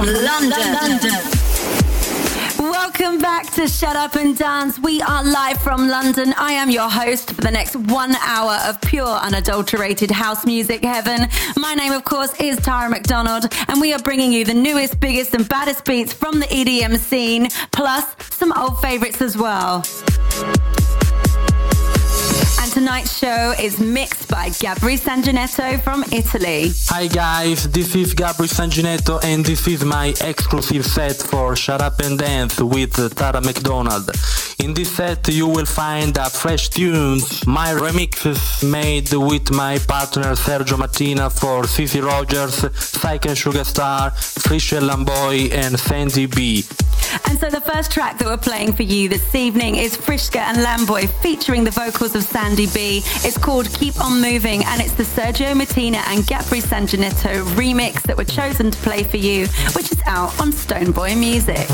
London. Welcome back to Shut Up and Dance. We are live from London. I am your host for the next 1 hour of pure, unadulterated house music heaven. My name, of course, is Tara McDonald, and we are bringing you the newest, biggest and baddest beats from the EDM scene, plus some old favourites as well. Tonight's show is mixed by Gabri Sanginetto from Italy. Hi guys, this is Gabri Sanginetto and this is my exclusive set for Shut Up and Dance with Tara McDonald. In this set you will find fresh tunes, my remixes made with my partner Sergio Mattina for CC Rogers, Psyche and Sugar Star, Frischke and Lamboy and Sandy B. And so the first track that we're playing for you this evening is Frischke and Lamboy featuring the vocals of Sandy B. It's called Keep On Moving and it's the Sergio Mattina and Gabri Sanginetto remix that we're chosen to play for you, which is out on Stoneboy Music.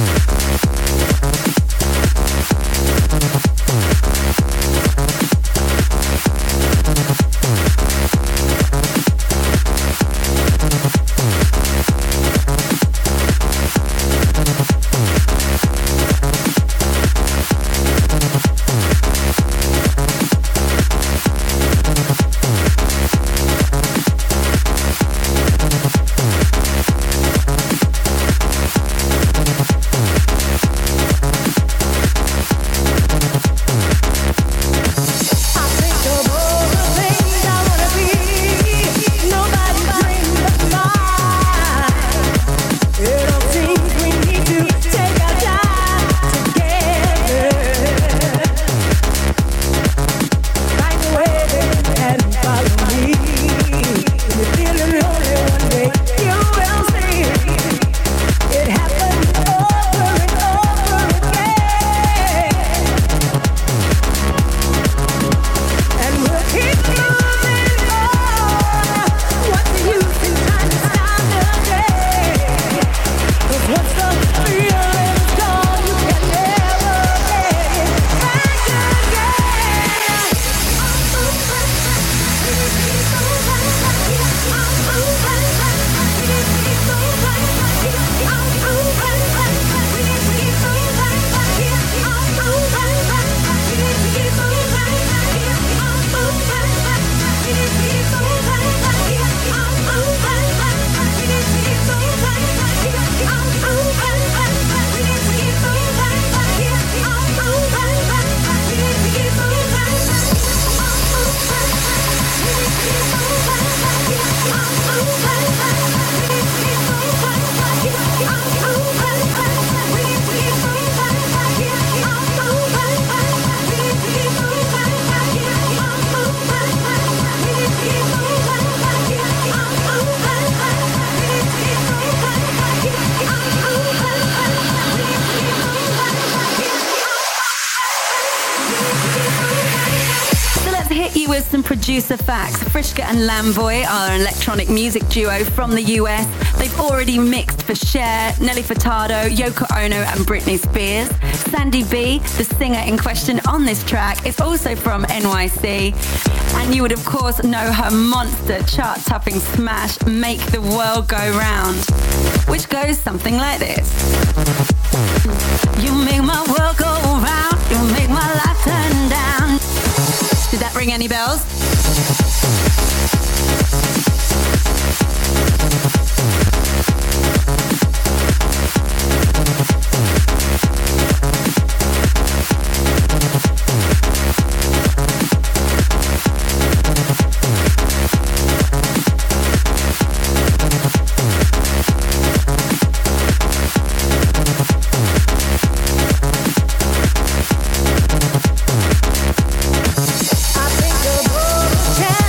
Producer facts. Frischke and Lamboy are an electronic music duo from the US. They've already mixed for Cher, Nelly Furtado, Yoko Ono and Britney Spears. Sandy B, the singer in question on this track, is also from NYC. And you would of course know her monster chart-topping smash, Make the World Go Round, which goes something like this. You make my world go round, you make my life turn down. Did that ring any bells? I think the world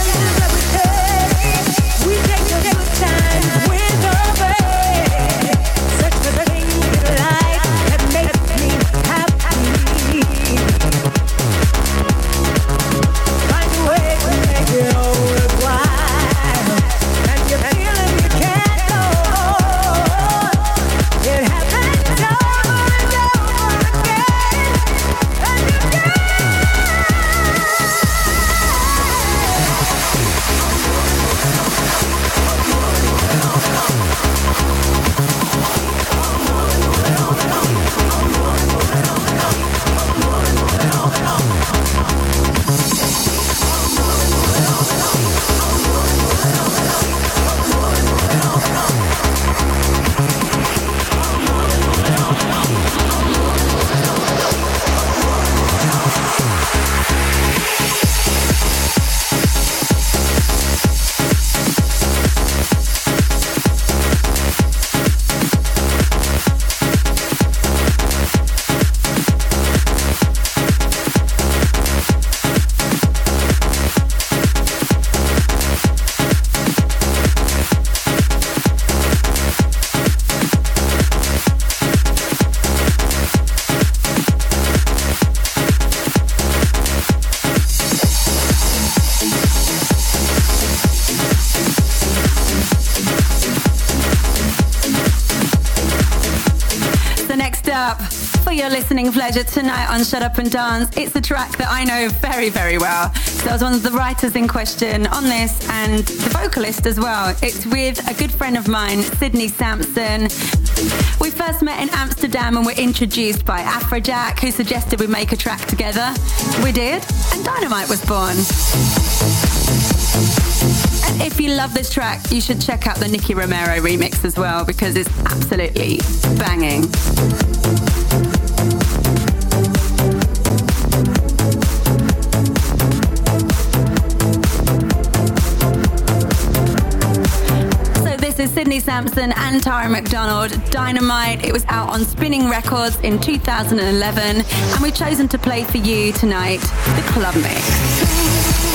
your listening pleasure tonight on Shut Up and Dance. It's a track that I know very, very well. So I was one of the writers in question on this and the vocalist as well. It's with a good friend of mine, Sydney Sampson. We first met in Amsterdam and were introduced by Afrojack, who suggested we make a track together. We did, and Dynamite was born. And if you love this track, you should check out the Nicky Romero remix as well, because it's absolutely banging. So this is Sydney Sampson and Tara McDonald, Dynamite. It was out on Spinning Records in 2011, and we've chosen to play for you tonight the club mix.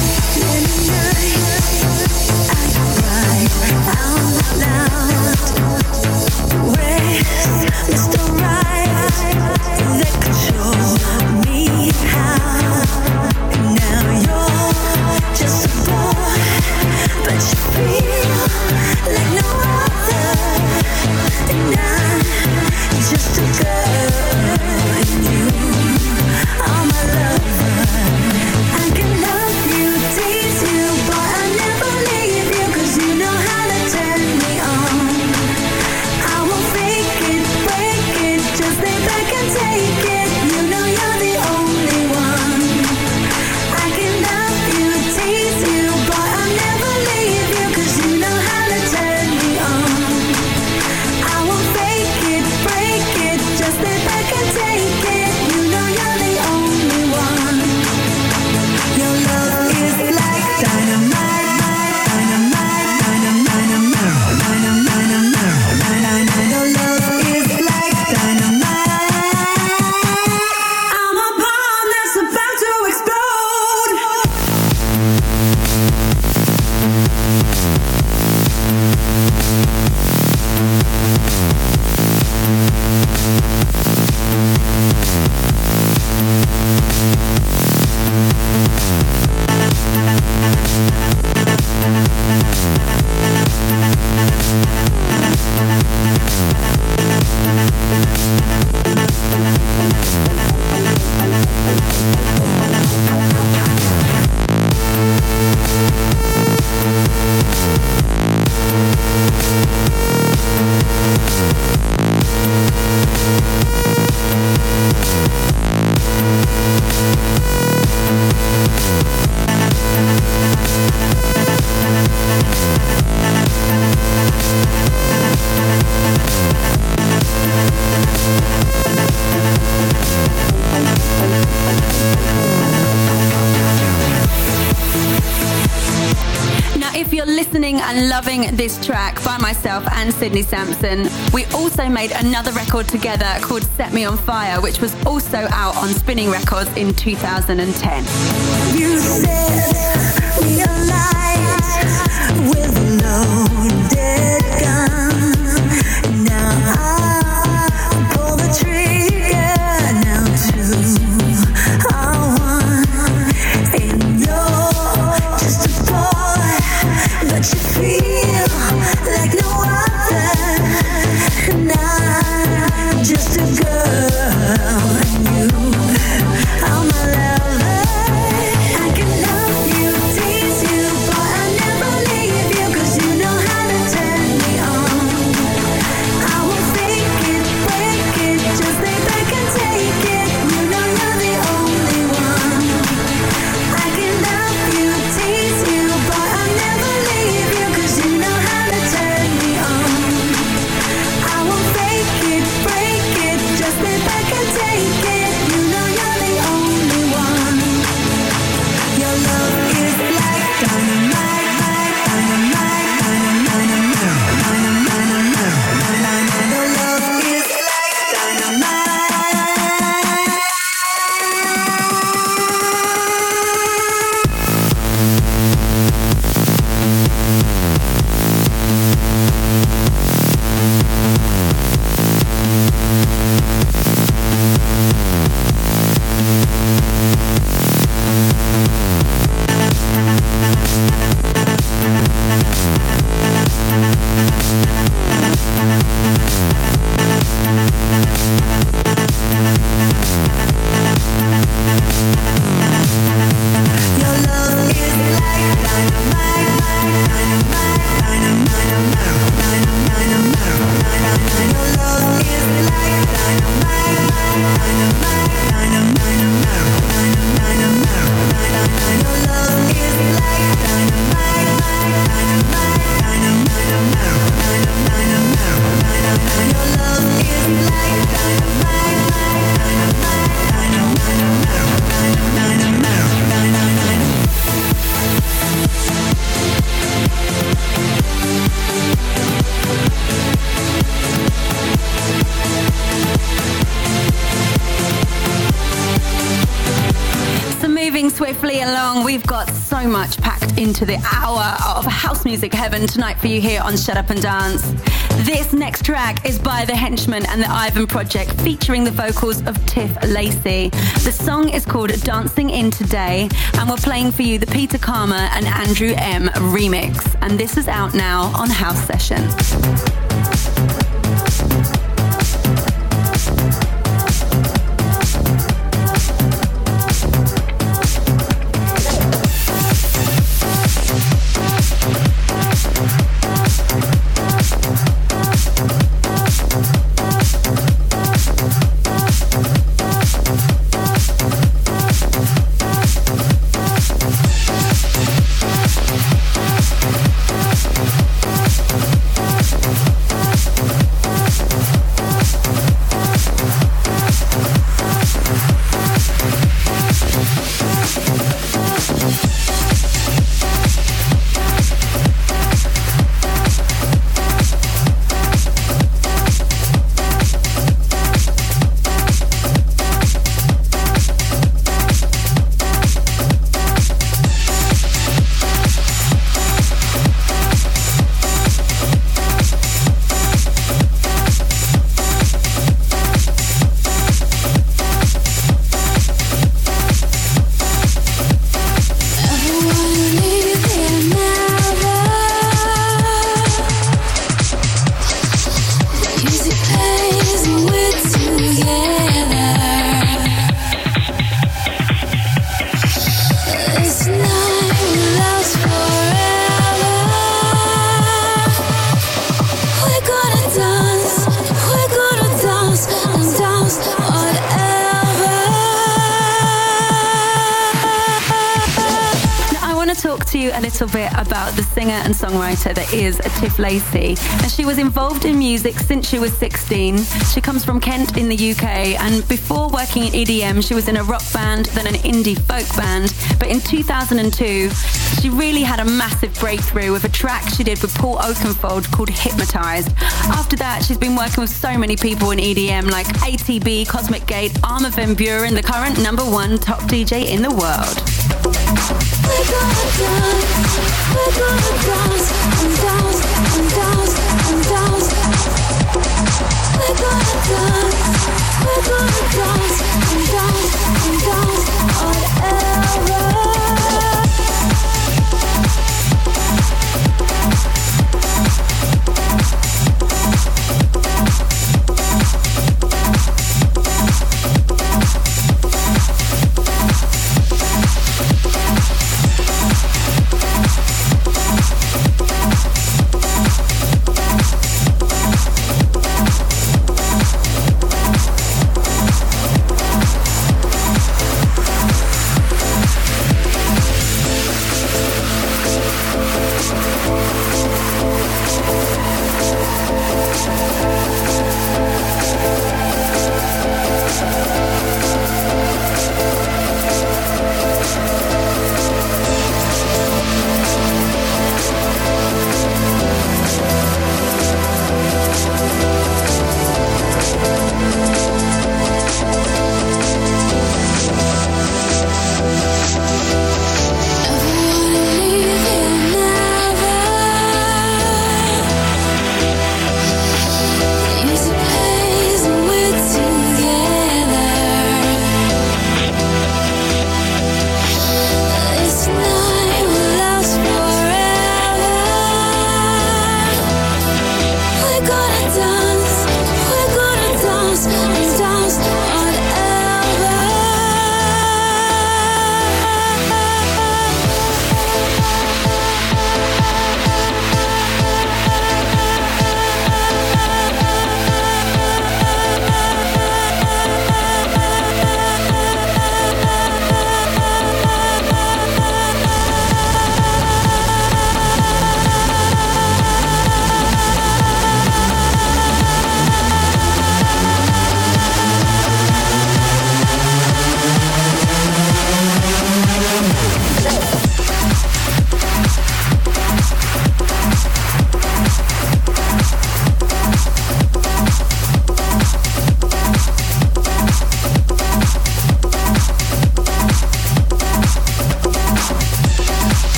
Just a girl and you are my lover. I can love you, tease you, but I never leave you, 'cause you know how to turn me on. I won't fake it, break it, just lay back and take it. You know you're the only one. I can love you, tease you, but I never leave you, 'cause you know how to turn me on. I won't fake it, break it, just lay back and take it. You know you're the only one. Your love is like dynamite, dynamite, dynamite, dynamite, dynamite. Your love is like dynamite. I'm a bomb that's about to explode. Now, if you're listening and loving this track by myself and Sydney Sampson, we also made another record together called Set Me On Fire, which was also out on Spinning Records in 2010. You said we aligned with a loaded gun. Now I pull the trigger. Now two are one. And you're just a boy, but you feel like no other. And I'm just a girl, and you are my lover. I can love you, long. We've got so much packed into the hour of house music heaven tonight for you here on Shut Up and Dance. This next track is by The Henchmen and the Ivan Project, featuring the vocals of Tiff Lacey. The song is called Dancing In Today, and we're playing for you the Peter Karma and Andrew M remix. And this is out now on House Session. A little bit about the singer and songwriter that is Tiff Lacey. And she was involved in music since she was 16. She comes from Kent in the UK, and before working in EDM, she was in a rock band, then an indie folk band. But in 2002, she really had a massive breakthrough with a track she did with Paul Oakenfold called Hypnotized. After that, she's been working with so many people in EDM like ATB, Cosmic Gate, Armin van Buuren, the current #1 top DJ in the world. We're gonna dance and dance and dance and dance. We're gonna dance and dance and dance forever.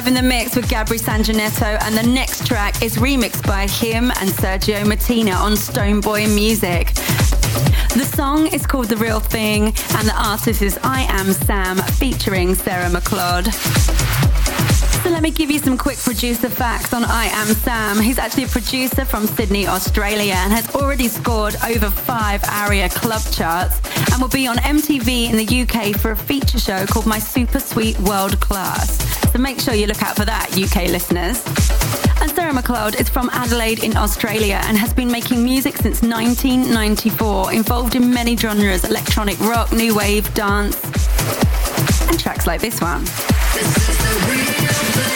live in the mix with Gabri Sanjanetto, and the next track is remixed by him and Sergio Martina on Stoneboy Music. The song is called The Real Thing, and the artist is I Am Sam featuring Sarah McLeod. So let me give you some quick producer facts on I Am Sam. He's actually a producer from Sydney, Australia, and has already scored over 5 ARIA club charts and will be on MTV in the UK for a feature show called My Super Sweet World Class. So make sure you look out for that, UK listeners. And Sarah McLeod is from Adelaide in Australia and has been making music since 1994, involved in many genres: electronic rock, new wave, dance, and tracks like this one. This is the real thing.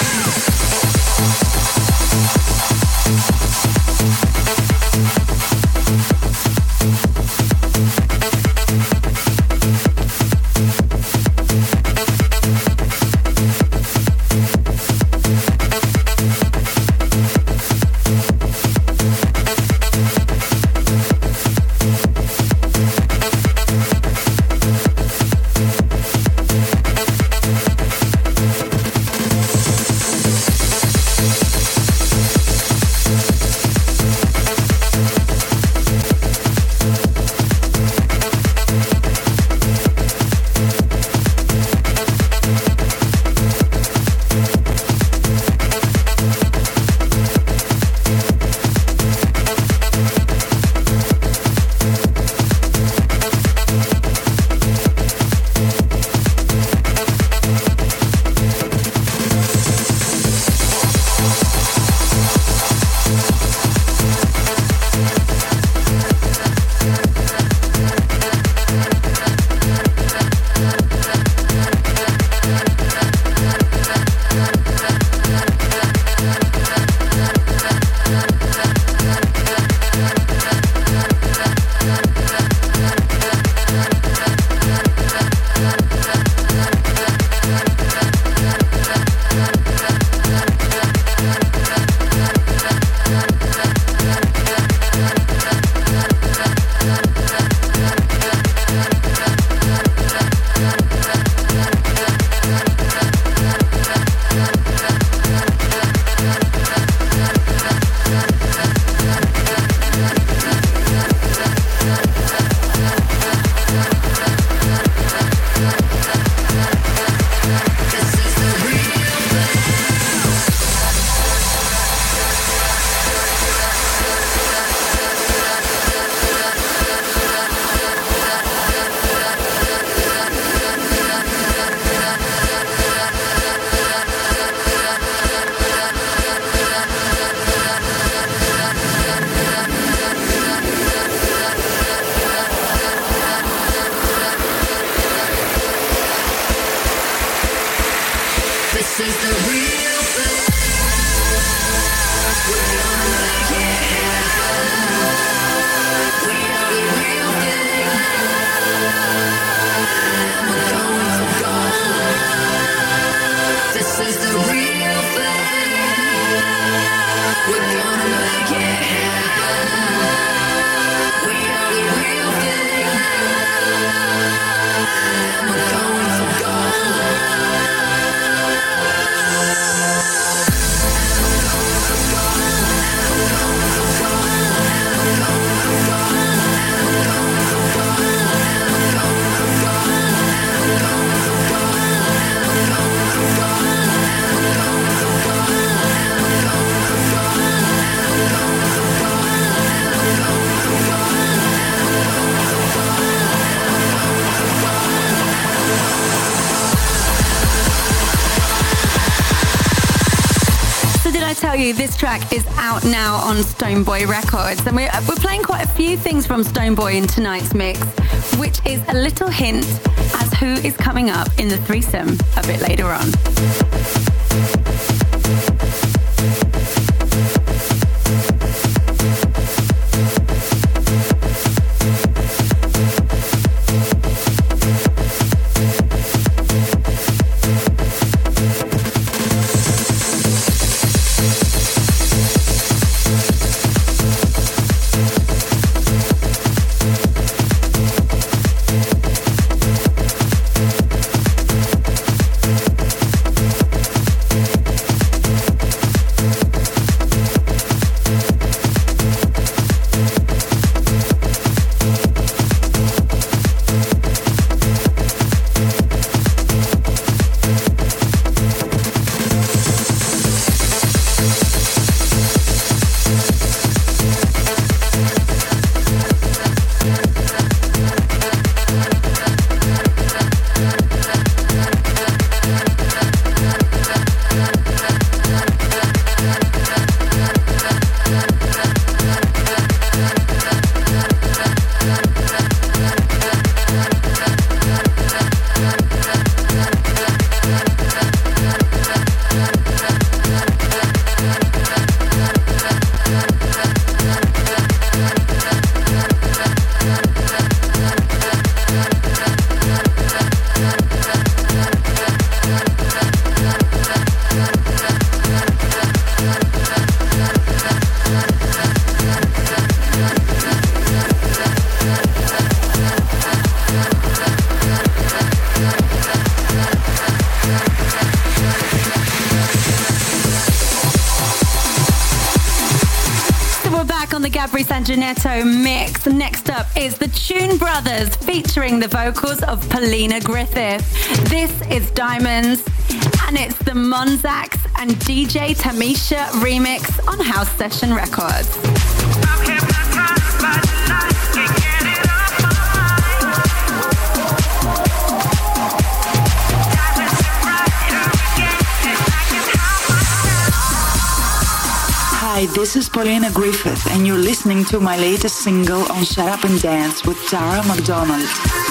This track is out now on Stoneboy Records, and we're playing quite a few things from Stoneboy in tonight's mix, which is a little hint as who is coming up in the threesome a bit later on. Gabri Sanginetto mix. Next up is the Tune Brothers featuring the vocals of Paulina Griffith. This is Diamonds, and it's the Monzax and DJ Tamisha remix on House Session Records. Hi, this is Paulina Griffith, and you're listening to my latest single on Shut Up and Dance with Tara McDonald.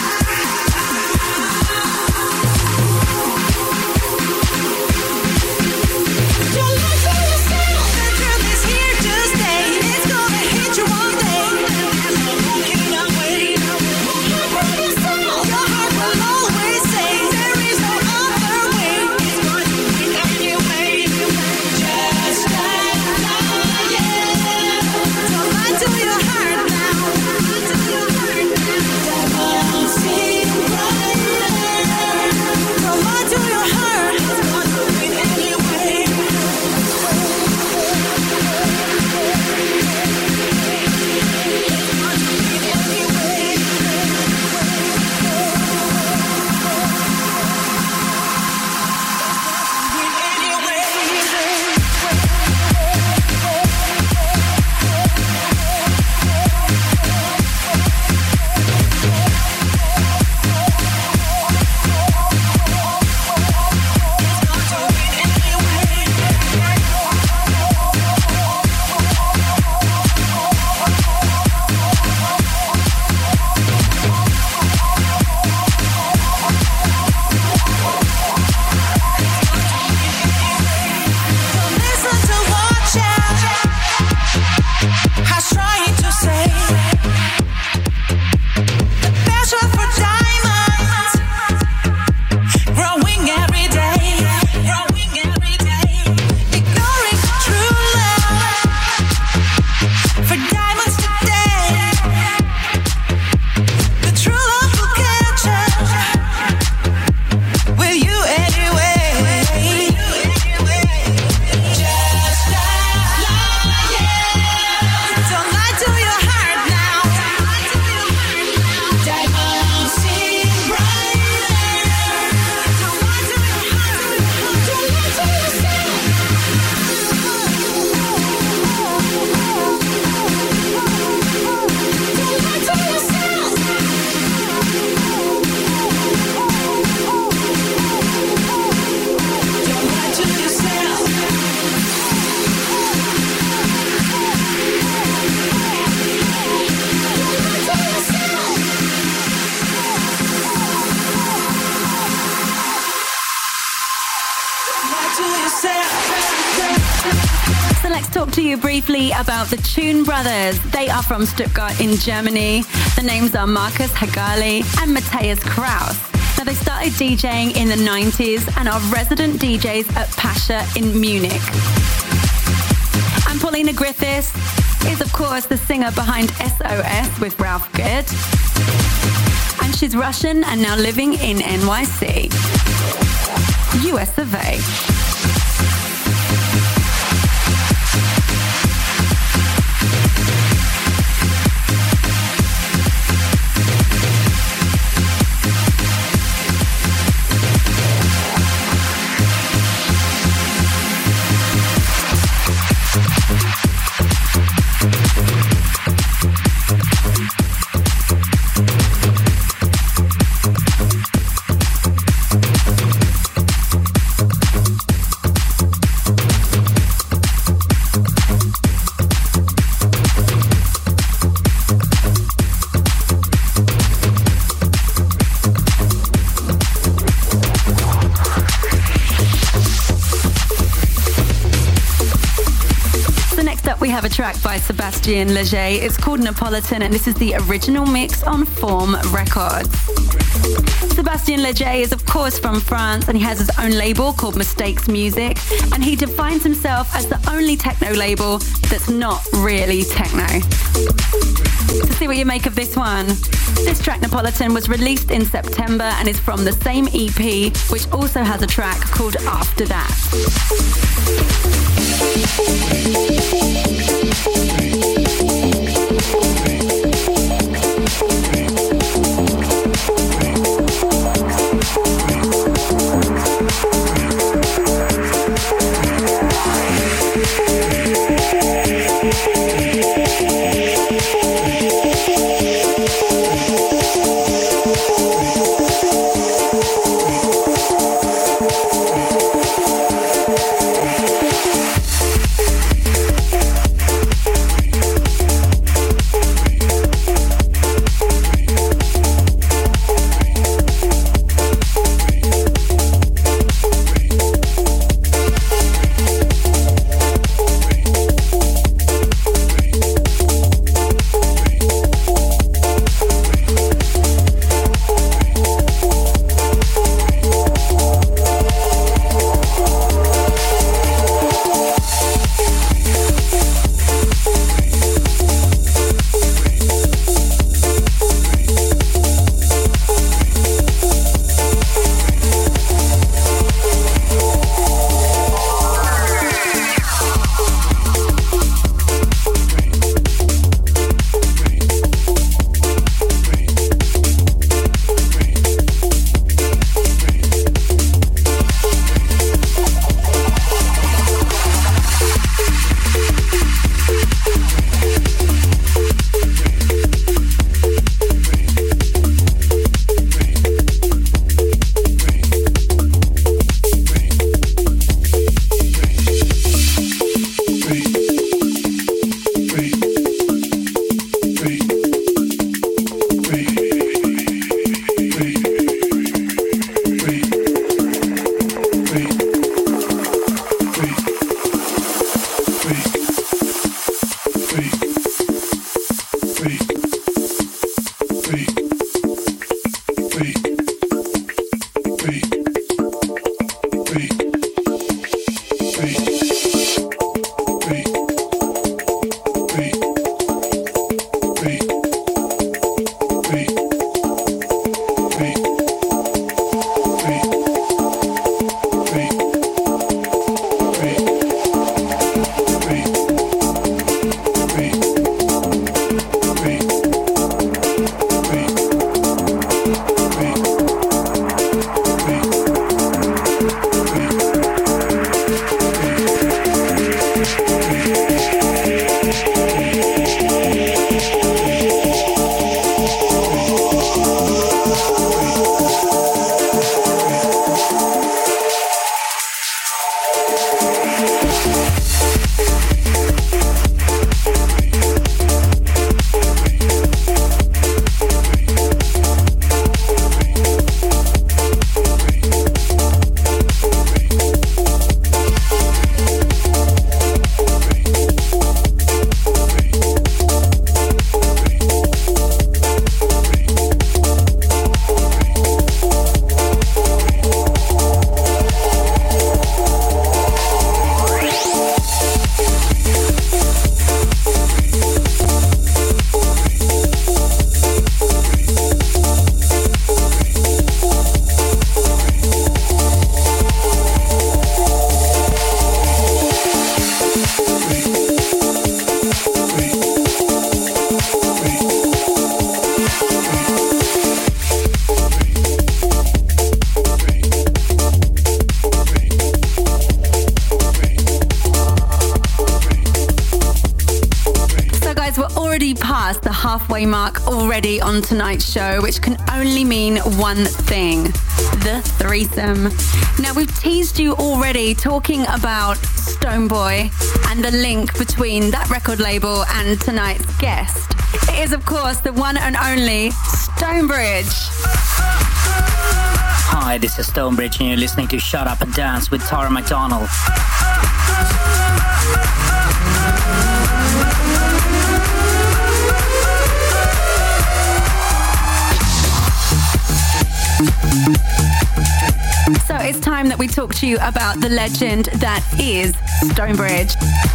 So let's talk to you briefly about the Tune Brothers. They are from Stuttgart in Germany. The names are Markus Hagali and Matthias Kraus. Now, they started DJing in the 90s and are resident DJs at Pasha in Munich. And Paulina Griffith is, of course, the singer behind SOS with Ralph Good. And she's Russian and now living in NYC, US of A. We have a track by Sébastien Léger. It's called Napolitan, and this is the original mix on Form Records. Sébastien Léger is, of course, from France, and he has his own label called Mistakes Music, and he defines himself as the only techno label that's not really techno. To see what you make of this one. This track, Napolitan, was released in September and is from the same EP, which also has a track called After That. halfway mark already on tonight's show, which can only mean one thing: the threesome. Now, we've teased you already talking about Stonebwoy and the link between that record label and tonight's guest. It is, of course, the one and only Stonebridge. Hi, this is Stonebridge, and you're listening to Shut Up and Dance with Tara McDonald. So it's time that we talk to you about the legend that is Stonebridge.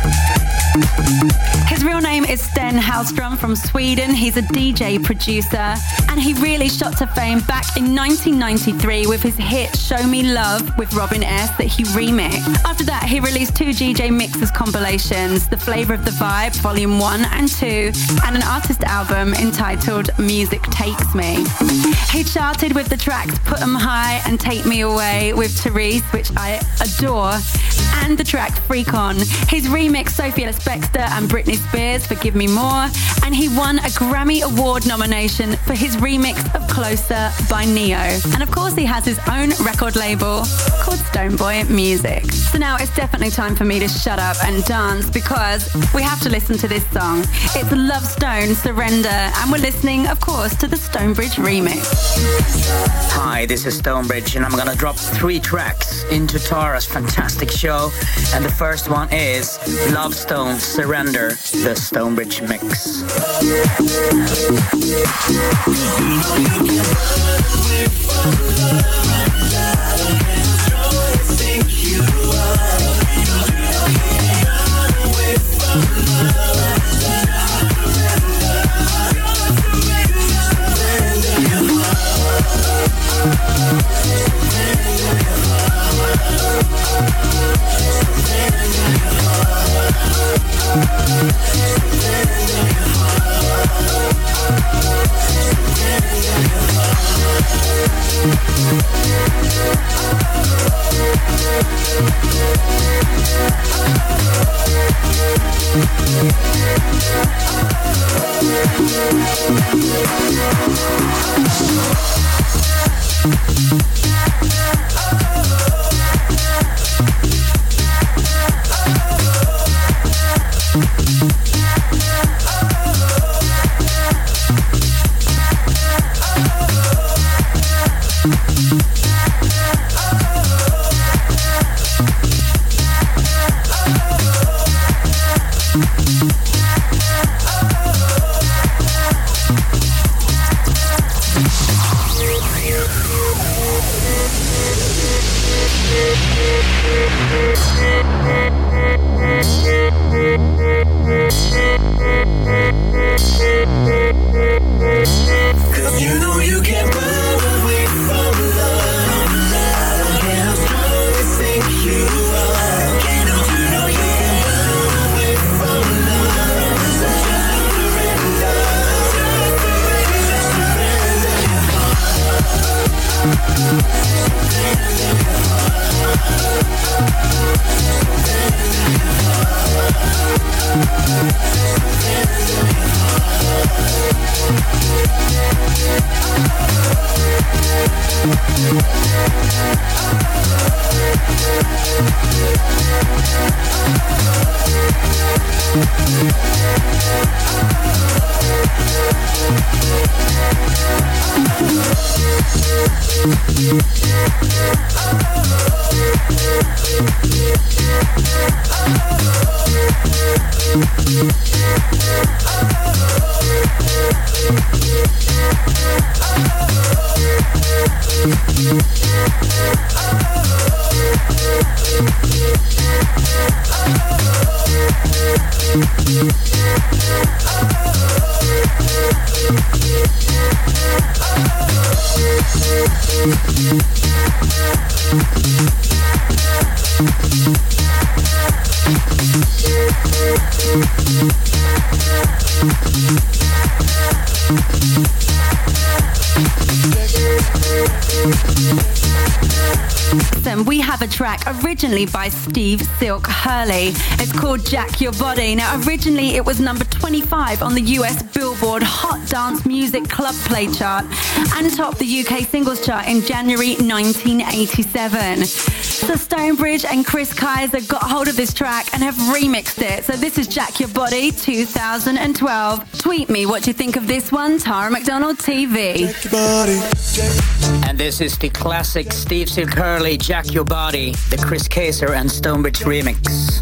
His real name is Sten Hallström from Sweden. He's a DJ producer, and he really shot to fame back in 1993 with his hit Show Me Love with Robin S. that he remixed. After that, he released 2 DJ Mixers compilations, The Flavor of the Vibe Volume 1 and 2, and an artist album entitled Music Takes Me. He charted with the tracks Put 'Em High and Take Me Away with Therese, which I adore, and the track Freak On. He's remixed Sophie Ellis Bextor and Britney Spears for Give Me More, and he won a Grammy Award nomination for his remix of Closer by Neo. And of course, he has his own record label called Stonebwoy Music. So now it's definitely time for me to shut up and dance, because we have to listen to this song. It's Love Stone, Surrender, and we're listening, of course, to the Stonebridge remix. Hi, this is Stonebridge, and I'm gonna drop 3 tracks into Tara's fantastic show. And the first one is Love Stone, Surrender, the Stonebridge mix. threesome, we have a track originally by Steve Silk Hurley. It's called Jack Your Body. Now, originally it was number 25 on the US Billboard Hot Dance Music Club Play chart and topped the UK singles chart in January 1987. So Stonebridge and Chris Kaiser got hold of this track and have remixed it. So this is Jack Your Body 2012. Tweet me what you think of this one, Tara McDonald TV. Jack your body. And this is the classic Steve Silk Hurley, Jack Your Body, the Chris Kaiser and Stonebridge remix.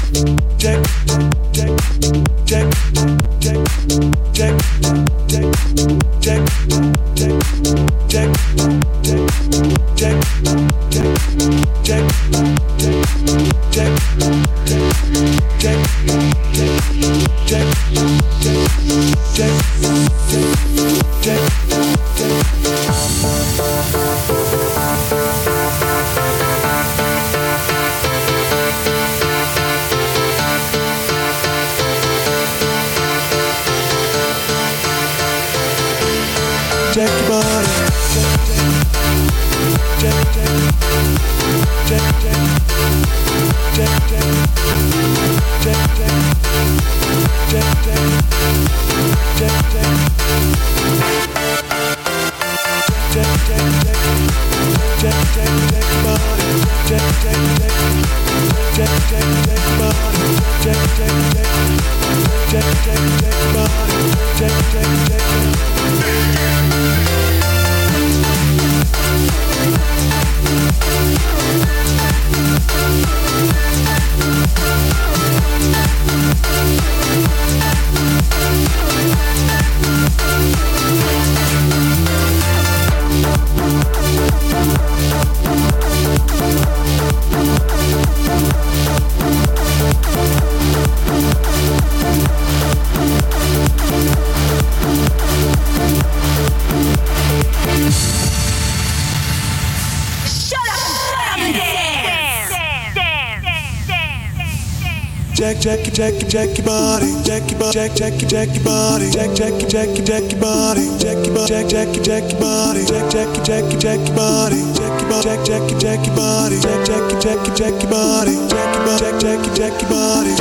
Jack your body, jack your body, jack your body, jack your body, jack your body, jack your body, jack your body, jack your body, jack your body, jack your body, jack your body, jack your body,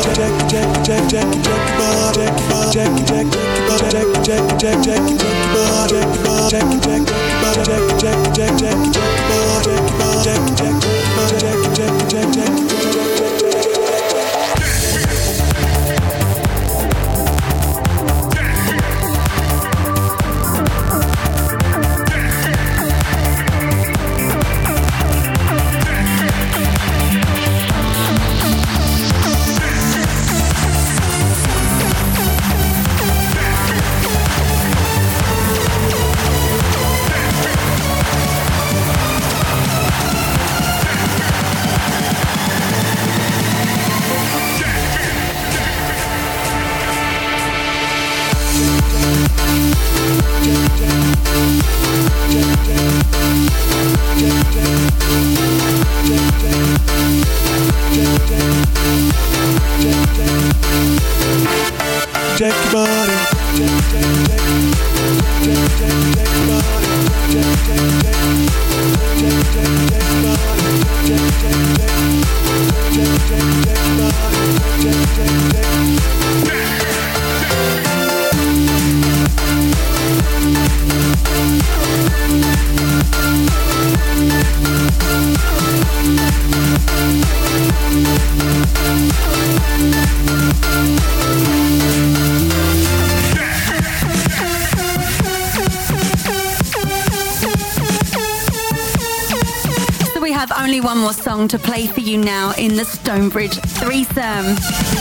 Only one more song to play for you now in the Stonebridge threesome.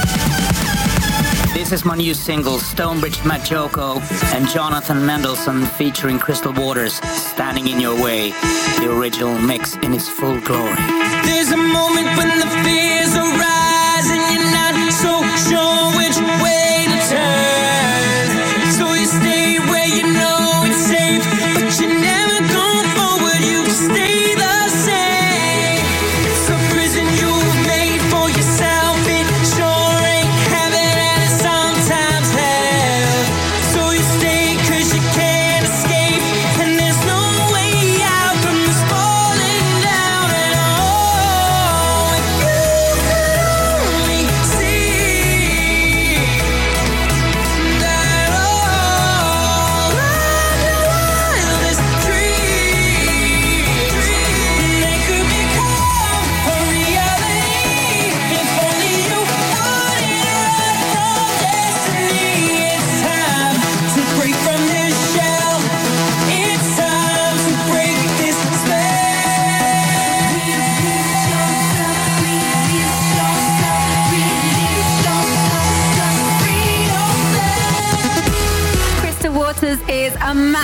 This is my new single, Stonebridge Majoko and Jonathan Mendelsohn featuring Crystal Waters, Standing in Your Way, the original mix in its full glory. There's a moment when the fears arise and you're not so sure which way to turn. So you stay where you know it's safe, but you never go forward, you stay the same. Falling down and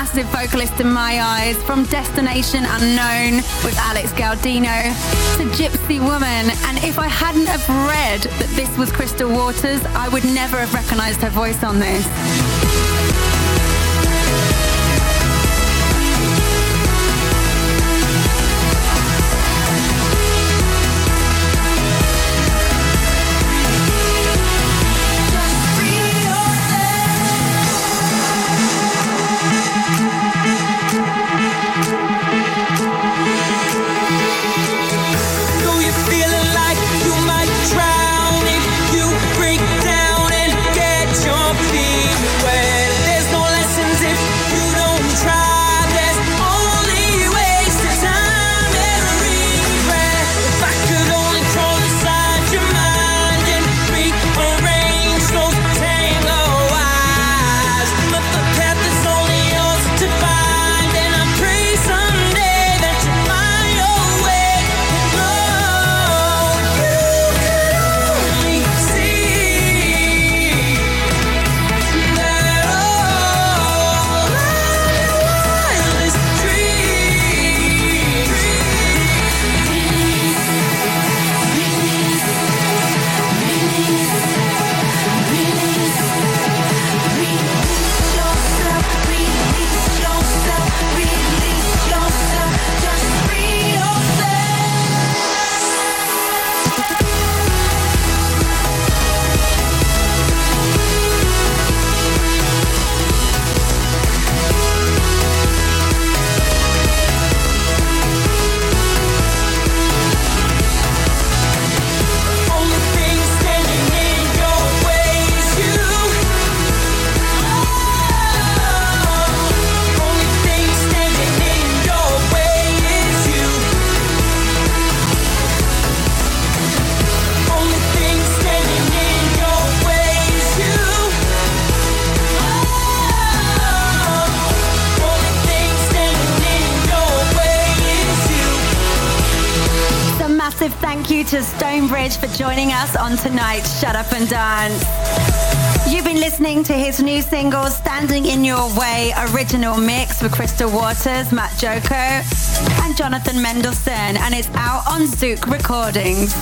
massive vocalist in my eyes, from Destination Unknown with Alex Gaudino to Gypsy Woman. And if I hadn't have read that this was Crystal Waters, I would never have recognised her voice on this. Thank you to Stonebridge for joining us on tonight's Shut Up and Dance. You've been listening to his new single, Standing in Your Way, original mix with Crystal Waters, Matt Joko, and Jonathan Mendelsohn, and it's out on Zouk Recordings.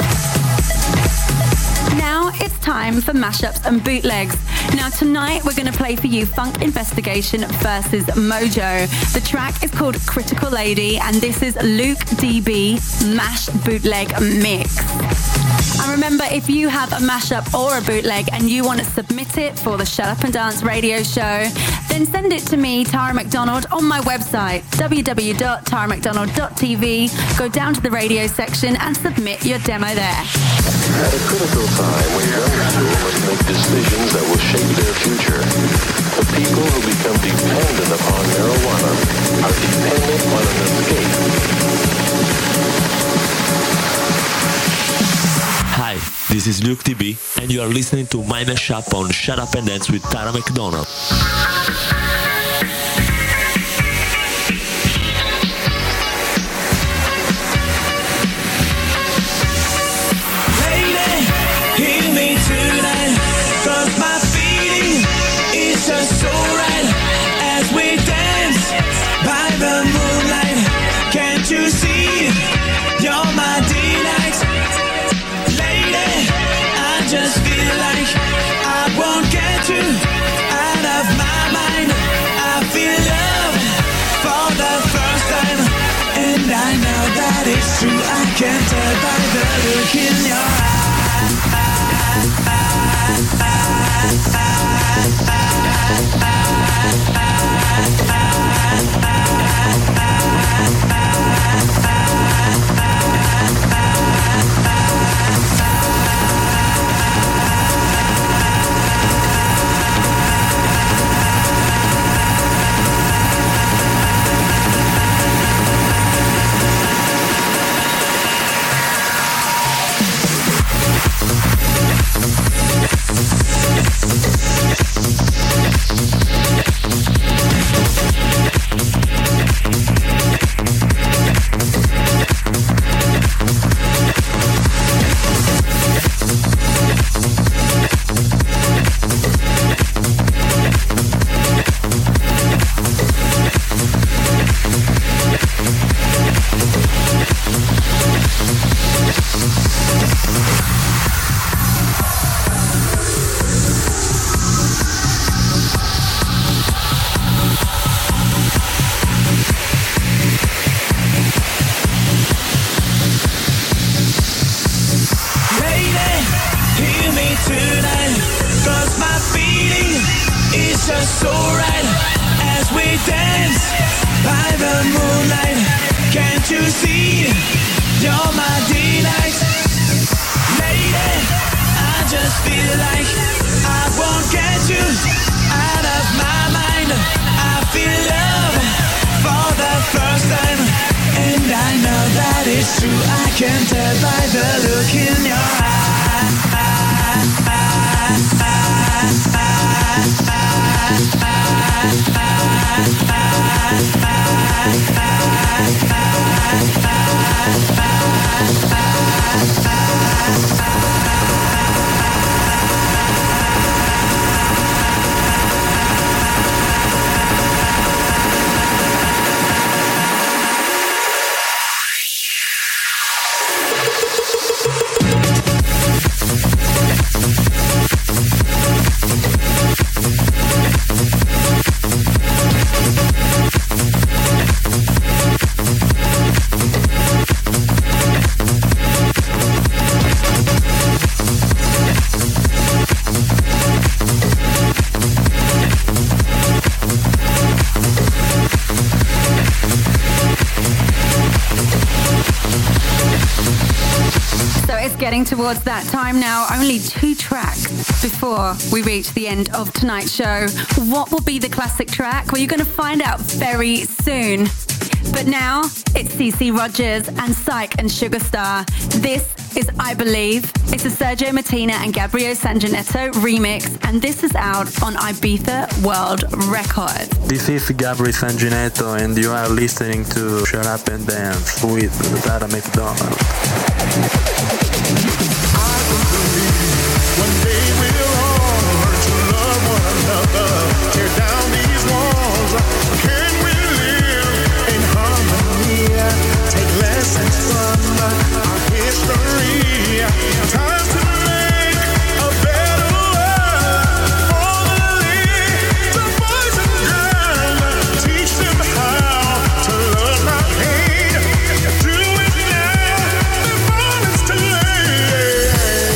Now it's time for mashups and bootlegs. Now tonight we're going to play for you Funk Investigation versus Mojo. The track is called Critical Lady, and this is Luke DB Mash Bootleg Mix. And remember, if you have a mashup or a bootleg and you want to submit it for the Shut Up and Dance radio show, then send it to me, Tara McDonald, on my website, www.taramcdonald.tv. Go down to the radio section and submit your demo there. At a critical time when young people must make decisions that will shape their future, the people who become dependent upon marijuana are dependent on an escape. Hi, this is Luke DB, and you are listening to my mashup on Shut Up and Dance with Tara McDonald. Just so right as we dance by the moonlight. Can't you see you're my delight? Lady, I just feel like I won't get you out of my mind. I feel love for the first time, and I know that it's true. I can tell by the look in your tonight, 'cause my feeling is just so right as we dance by the moonlight. Can't you see you're my delight? Lady, I just feel like I won't get you out of my mind. I feel love for the first time, and I know that it's true. I can tell by the look in your eyes. Getting towards that time now, only 2 tracks before we reach the end of tonight's show. What will be the classic track? Well, you're going to find out very soon. But now, it's CeCe Rogers and Psych and Sugarstar. This is I Believe. It's a Sergio Martina and Gabriel Sanginetto remix, and this is out on Ibiza World Records. This is Gabriel Sanginetto, and you are listening to Shut Up and Dance with Tara McDonald. One day we'll all learn to love one another. Tear down these walls. Can we live in harmony? Take lessons from our history. Time to make a better world for the boys and girls. Teach them how to love, not hate. Do it now before it's too late.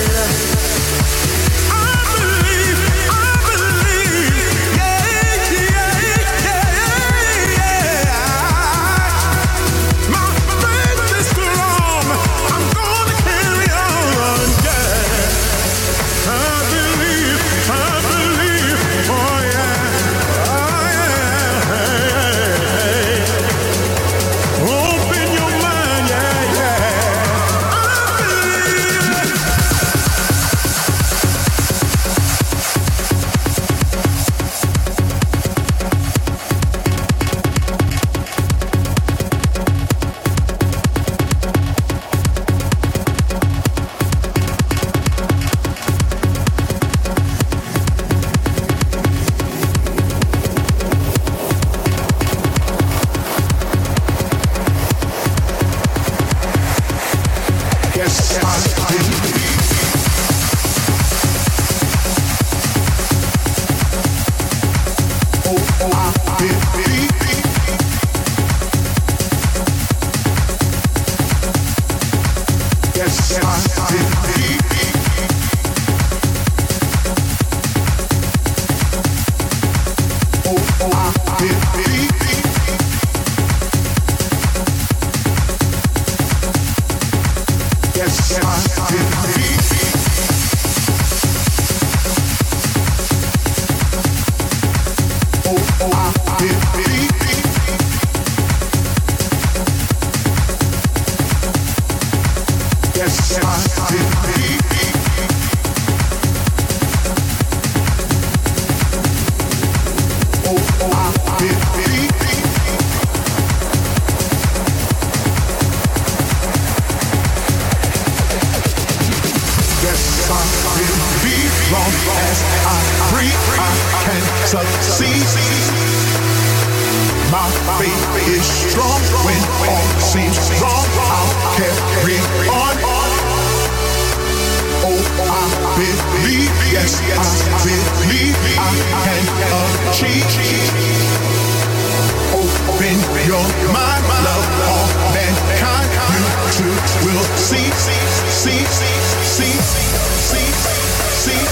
My faith is strong when all seems wrong. I'll carry on. Oh, I believe, yes, I believe I can achieve. Open your mind, love all mankind. You too will see.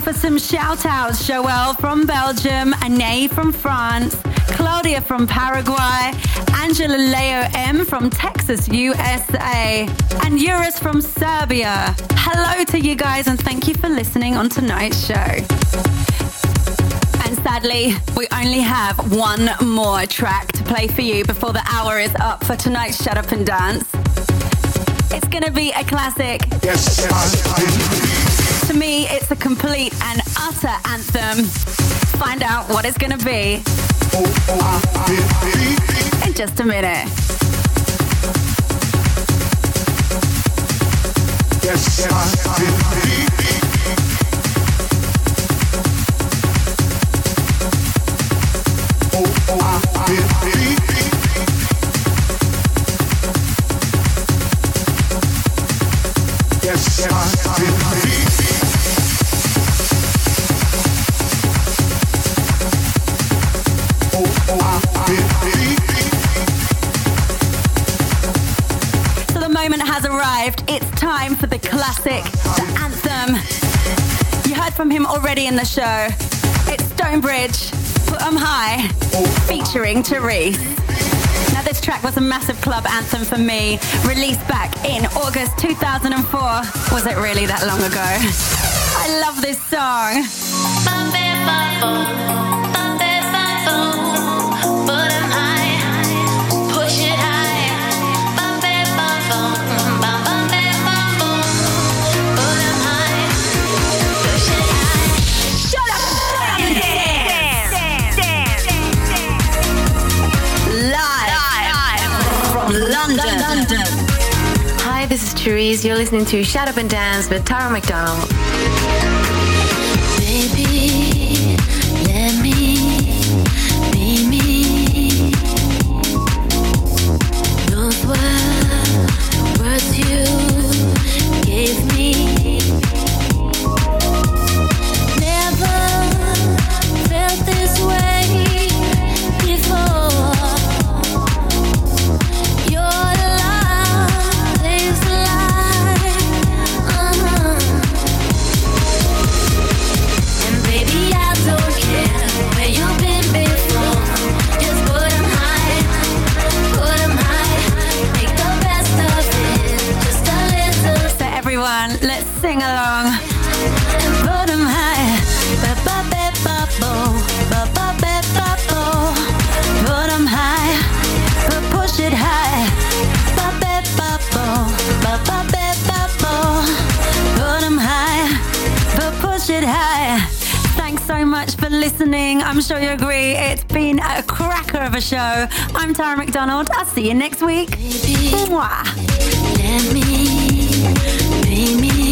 for some shout-outs. Joelle from Belgium, Anae from France, Claudia from Paraguay, Angela Leo M from Texas, USA, and Eurus from Serbia. Hello to you guys and thank you for listening on tonight's show. And sadly, we only have one more track to play for you before the hour is up for tonight's Shut Up and Dance. It's gonna be a classic. To me, it's a complete and utter anthem. Find out what it's gonna be in just a minute. So the moment has arrived. It's time for the classic, the anthem. You heard from him already in the show. It's Stonebridge, Put 'em High, featuring Therese. Now this track was a massive club anthem for me, released back in August 2004. Was it really that long ago? I love this song. London. Hi, this is Therese. You're listening to Shut Up and Dance with Tara McDonald. Baby, let me be me. Those were words you gave me. Never felt this way before. Let's sing along. Put 'em high. Put 'em high. Push it high. Put 'em high. Push it high. Thanks so much for listening. I'm sure you agree it's been a cracker of a show. I'm Tara McDonald. I'll see you next week. Mwah. Let me be me.